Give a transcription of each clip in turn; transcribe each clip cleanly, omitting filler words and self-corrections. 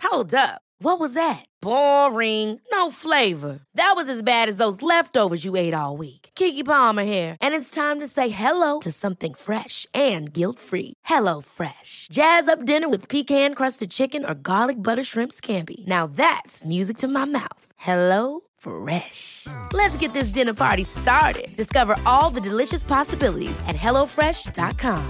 Hold up. What was that? Boring. No flavor. That was as bad as those leftovers you ate all week. Keke Palmer here, and it's time to say hello to something fresh and guilt-free. Hello Fresh. Jazz up dinner with pecan-crusted chicken or garlic butter shrimp scampi. Now that's music to my mouth. Hello Fresh. Let's get this dinner party started. Discover all the delicious possibilities at hellofresh.com.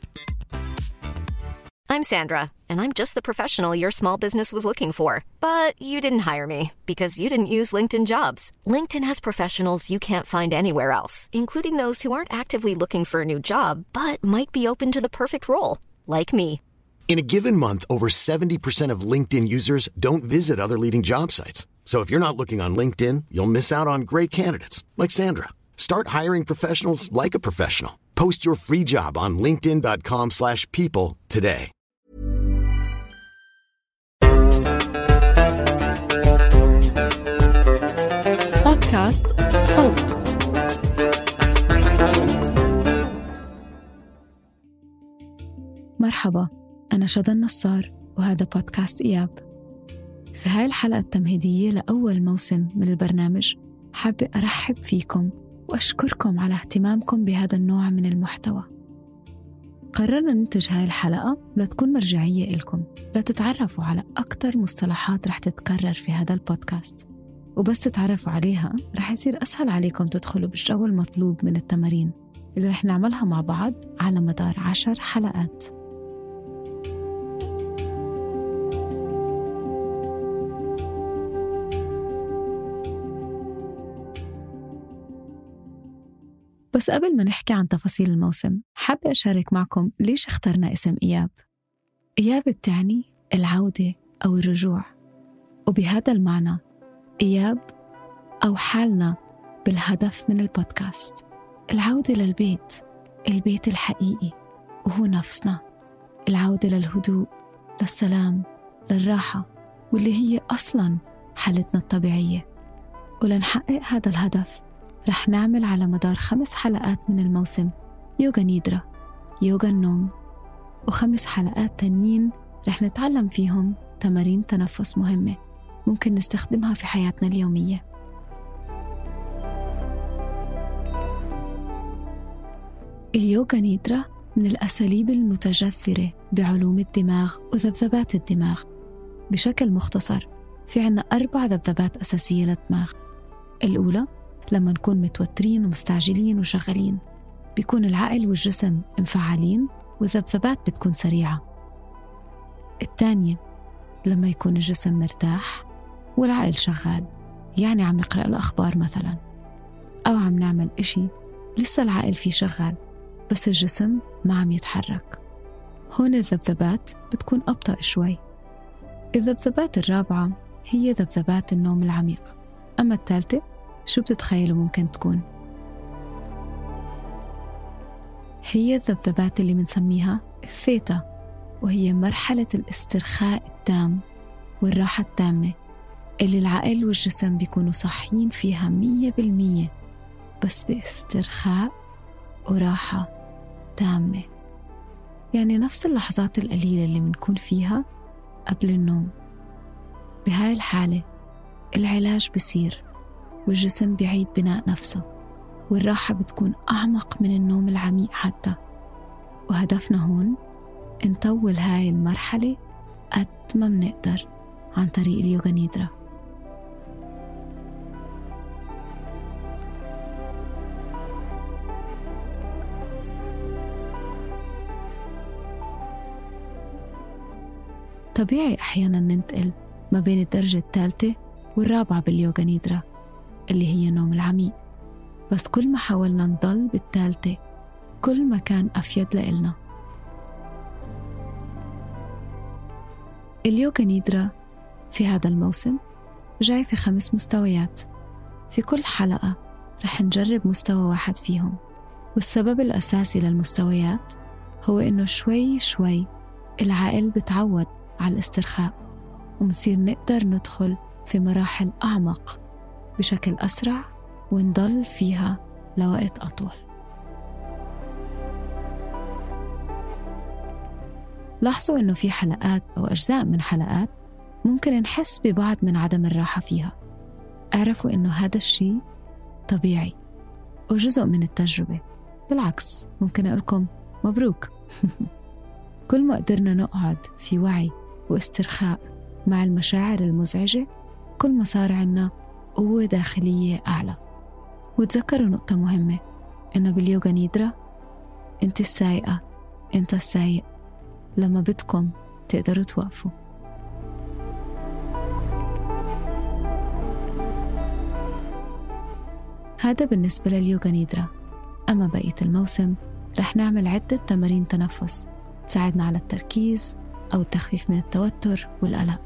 I'm Sandra, and I'm just the professional your small business was looking for. But you didn't hire me because you didn't use LinkedIn Jobs. LinkedIn has professionals you can't find anywhere else, including those who aren't actively looking for a new job, but might be open to the perfect role, like me. In a given month, over 70% of LinkedIn users don't visit other leading job sites. So if you're not looking on LinkedIn, you'll miss out on great candidates like Sandra. Start hiring professionals like a professional. Post your free job on linkedin.com/people today. بودكاست صوت. مرحبا، أنا شذى نصار وهذا بودكاست إياب. في هاي الحلقة التمهيدية لأول موسم من البرنامج حابة أرحب فيكم وأشكركم على اهتمامكم بهذا النوع من المحتوى. قررنا ننتج هاي الحلقة لتكون مرجعية إلكم، لتتعرفوا على أكتر مصطلحات رح تتكرر في هذا البودكاست، وبس تتعرفوا عليها رح يصير أسهل عليكم تدخلوا بالجو المطلوب من التمارين اللي رح نعملها مع بعض على مدار 10 حلقات. بس قبل ما نحكي عن تفاصيل الموسم، حابة أشارك معكم ليش اخترنا اسم إياب. إياب بتعني العودة أو الرجوع، وبهذا المعنى إياب أو حالنا بالهدف من البودكاست العودة للبيت، البيت الحقيقي وهو نفسنا، العودة للهدوء، للسلام، للراحة، واللي هي أصلاً حالتنا الطبيعية. ولنحقق هذا الهدف رح نعمل على مدار 5 حلقات من الموسم يوغا نيدرا، يوغا النوم، و5 حلقات تانيين رح نتعلم فيهم تمارين تنفس مهمة ممكن نستخدمها في حياتنا اليومية. اليوغا نيدرا من الأساليب المتجذرة بعلوم الدماغ وذبذبات الدماغ. بشكل مختصر، في عنا 4 ذبذبات أساسية للدماغ. الأولى لما نكون متوترين ومستعجلين وشغالين، بيكون العقل والجسم مفعلين والذبذبات بتكون سريعة. الثانية لما يكون الجسم مرتاح والعقل شغال، يعني عم نقرأ الأخبار مثلا، أو عم نعمل إشي لسه العقل فيه شغال بس الجسم ما عم يتحرك. هون الذبذبات بتكون أبطأ شوي. الذبذبات الرابعة هي ذبذبات النوم العميق. أما الثالثة شو بتتخيلوا ممكن تكون؟ هي الذبذبات اللي منسميها الثيتا، وهي مرحلة الاسترخاء التام والراحة التامة اللي العقل والجسم بيكونوا صاحيين فيها 100%، بس باسترخاء وراحة تامة. يعني نفس اللحظات القليلة اللي منكون فيها قبل النوم. بهاي الحالة العلاج بيصير والجسم بيعيد بناء نفسه، والراحة بتكون أعمق من النوم العميق حتى. وهدفنا هون نطول هاي المرحلة قد ما منقدر عن طريق اليوغا نيدرا. طبيعي أحيانا ننتقل ما بين الدرجة 3 والرابعة باليوغا نيدرا اللي هي النوم العميق، بس كل ما حاولنا نضل بالثالثة كل ما كان أفيد لإلنا. اليوغا نيدرا في هذا الموسم جاي في 5 مستويات. في كل حلقة رح نجرب مستوى واحد فيهم، والسبب الأساسي للمستويات هو إنه شوي شوي العقل بتعود على الاسترخاء، ومنصير نقدر ندخل في مراحل أعمق بشكل أسرع ونضل فيها لوقت أطول. لاحظوا إنه في حلقات أو أجزاء من حلقات ممكن نحس ببعض من عدم الراحة فيها. اعرفوا إنه هذا الشيء طبيعي وجزء من التجربة. بالعكس ممكن أقولكم مبروك. كل ما قدرنا نقعد في وعي واسترخاء مع المشاعر المزعجة، كل ما صار عنا قوة داخلية أعلى. وتذكروا نقطة مهمة، إنه باليوغا نيدرا أنت السايقة، أنت السايق. لما بدكم تقدروا توقفوا. هذا بالنسبة لليوغا نيدرا. أما بقية الموسم رح نعمل عدة تمارين تنفس تساعدنا على التركيز أو التخفيف من التوتر والقلق.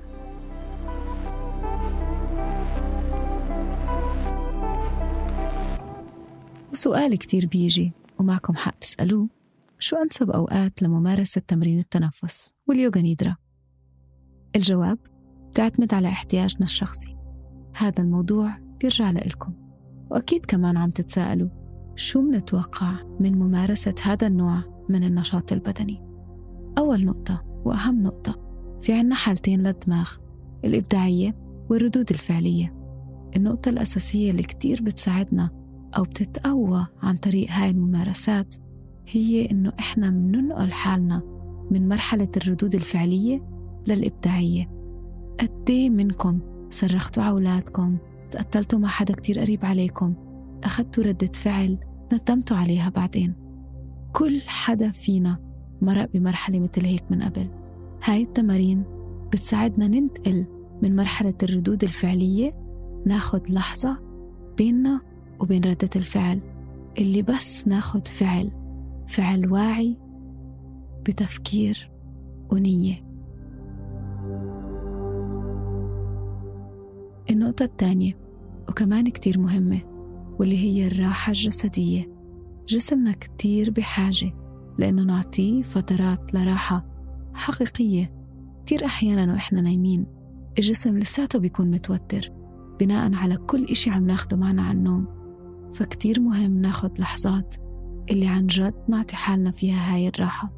وسؤال كتير بيجي ومعكم حق تسألوه، شو أنسب أوقات لممارسة تمرين التنفس واليوغا نيدرا؟ الجواب تعتمد على احتياجنا الشخصي. هذا الموضوع بيرجع لإلكم. وأكيد كمان عم تتساءلوا شو منتوقع من ممارسة هذا النوع من النشاط البدني. أول نقطة وأهم نقطة، في عنا حالتين للدماغ، الإبداعية والردود الفعلية. النقطة الأساسية اللي كتير بتساعدنا أو بتتقوى عن طريق هاي الممارسات هي إنه إحنا مننقل حالنا من مرحلة الردود الفعلية للإبداعية. قدي منكم صرختوا على أولادكم، تقتلتوا مع حدا كتير قريب عليكم، أخذتوا ردة فعل ندمتوا عليها بعدين. كل حدا فينا مرق بمرحلة مثل هيك من قبل. هاي التمارين بتساعدنا ننتقل من مرحلة الردود الفعلية، ناخد لحظة بيننا وبين ردة الفعل اللي بس ناخد فعل واعي بتفكير ونية. النقطة الثانية وكمان كتير مهمة واللي هي الراحة الجسدية. جسمنا كتير بحاجة لأنه نعطيه فترات لراحة حقيقية. كتير أحيانا وإحنا نايمين الجسم لساته بيكون متوتر بناء على كل إشي عم ناخده معنا عن النوم. فكتير مهم ناخد لحظات اللي عن جد نعطي حالنا فيها هاي الراحة.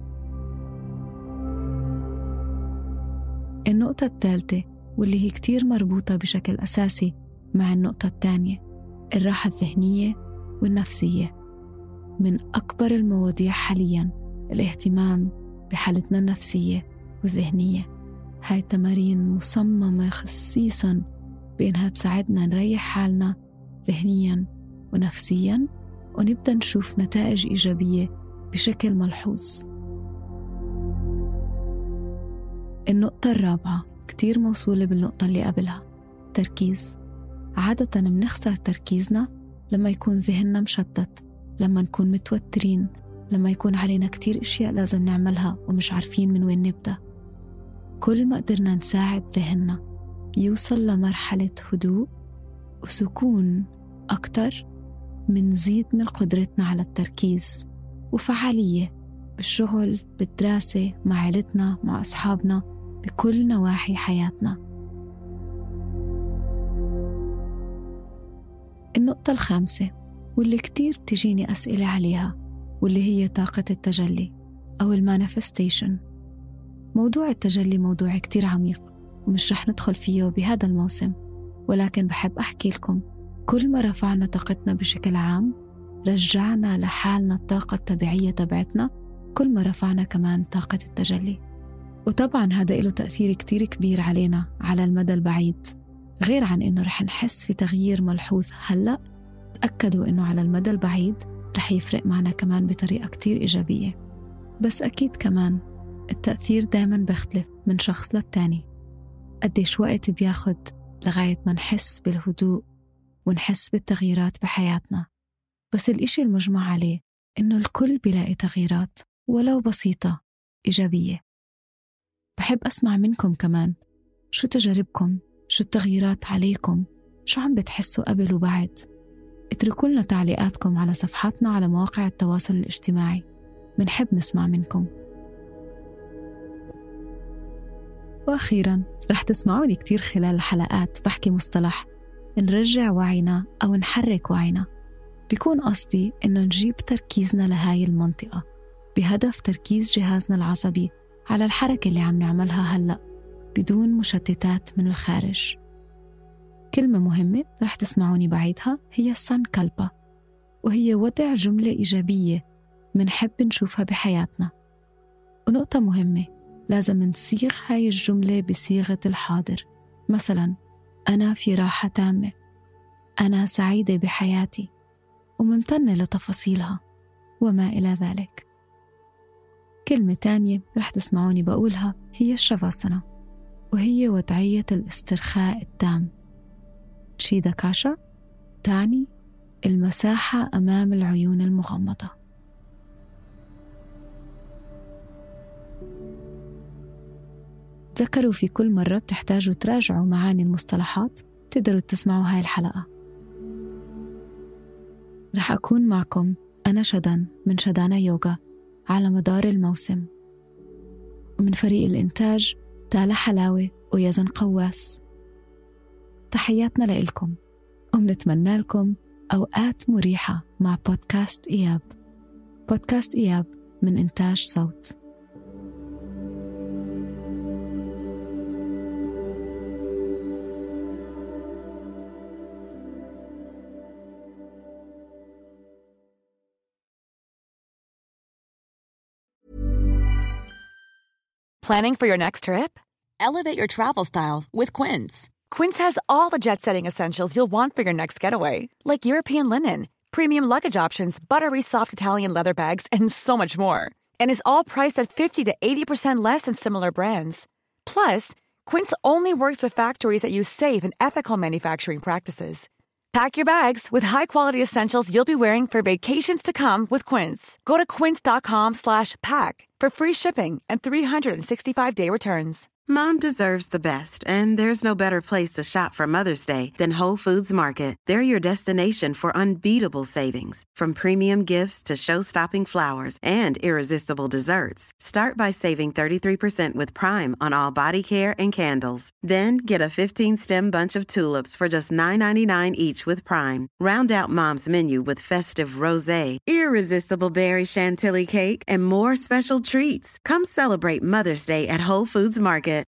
النقطة الثالثة واللي هي كتير مربوطة بشكل أساسي مع النقطة الثانية، الراحة الذهنية والنفسية. من أكبر المواضيع حالياً الاهتمام بحالتنا النفسية والذهنية. هاي التمارين مصممة خصيصاً بإنها تساعدنا نريح حالنا ذهنياً ونفسياً ونبدأ نشوف نتائج إيجابية بشكل ملحوظ. النقطة الرابعة كتير موصولة بالنقطة اللي قبلها، تركيز. عادة بنخسر تركيزنا لما يكون ذهننا مشتت، لما نكون متوترين، لما يكون علينا كتير إشياء لازم نعملها ومش عارفين من وين نبدأ. كل ما قدرنا نساعد ذهننا يوصل لمرحلة هدوء وسكون أكتر، منزيد من قدرتنا على التركيز وفعالية بالشغل، بالدراسة، مع عائلتنا، مع أصحابنا، بكل نواحي حياتنا. النقطة الخامسة واللي كتير تجيني أسئلة عليها واللي هي طاقة التجلي أو المانيفستيشن. موضوع التجلي موضوع كتير عميق ومش رح ندخل فيه بهذا الموسم، ولكن بحب أحكي لكم كل ما رفعنا طاقتنا بشكل عام رجعنا لحالنا الطاقة الطبيعية تبعتنا، كل ما رفعنا كمان طاقة التجلي. وطبعا هذا له تأثير كتير كبير علينا على المدى البعيد. غير عن إنه رح نحس في تغيير ملحوظ هلأ، تأكدوا إنه على المدى البعيد رح يفرق معنا كمان بطريقة كتير إيجابية. بس أكيد كمان التأثير دايما بيختلف من شخص للتاني. قديش وقت بياخد لغاية ما نحس بالهدوء ونحس بالتغييرات بحياتنا. بس الإشي المجمع عليه إنه الكل بيلاقي تغييرات ولو بسيطة إيجابية. بحب أسمع منكم كمان، شو تجاربكم؟ شو التغييرات عليكم؟ شو عم بتحسوا قبل وبعد؟ اتركوا لنا تعليقاتكم على صفحاتنا على مواقع التواصل الاجتماعي، منحب نسمع منكم. وأخيراً رح تسمعوني كتير خلال الحلقات بحكي مصطلح نرجع وعينا أو نحرك وعينا. بيكون قصدي إنه نجيب تركيزنا لهاي المنطقة بهدف تركيز جهازنا العصبي على الحركة اللي عم نعملها هلأ، بدون مشتتات من الخارج. كلمة مهمة رح تسمعوني بعيدها هي سانكالبا، وهي وضع جملة إيجابية منحب نشوفها بحياتنا. ونقطة مهمة، لازم نصيغ هاي الجملة بصيغة الحاضر. مثلا أنا في راحة تامة، أنا سعيدة بحياتي وممتنة لتفاصيلها، وما إلى ذلك. كلمة تانية رح تسمعوني بقولها هي الشافاسانا، وهي وضعية الاسترخاء التام. تشيداكاشا تعني المساحة أمام العيون المغمضة. تذكروا في كل مرة بتحتاجوا تراجعوا معاني المصطلحات تقدروا تسمعوا هاي الحلقة. رح أكون معكم أنا شدان من شدانا يوغا على مدار الموسم، ومن فريق الإنتاج تالا حلاوة ويزن قواس. تحياتنا لإلكم، ومنتمنى لكم أوقات مريحة مع بودكاست إياب. بودكاست إياب من إنتاج صوت. Planning for your next trip? Elevate your travel style with Quince. Quince has all the jet-setting essentials you'll want for your next getaway, like European linen, premium luggage options, buttery soft Italian leather bags, and so much more. And is all priced at 50 to 80% less than similar brands. Plus, Quince only works with factories that use safe and ethical manufacturing practices. Pack your bags with high-quality essentials you'll be wearing for vacations to come with Quince. Go to quince.com/pack for free shipping and 365-day returns. Mom deserves the best, and there's no better place to shop for Mother's Day than Whole Foods Market. They're your destination for unbeatable savings, from premium gifts to show-stopping flowers and irresistible desserts. Start by saving 33% with Prime on all body care and candles. Then get a 15-stem bunch of tulips for just $9.99 each with Prime. Round out Mom's menu with festive rosé, irresistible berry chantilly cake, and more special treats. Come celebrate Mother's Day at Whole Foods Market.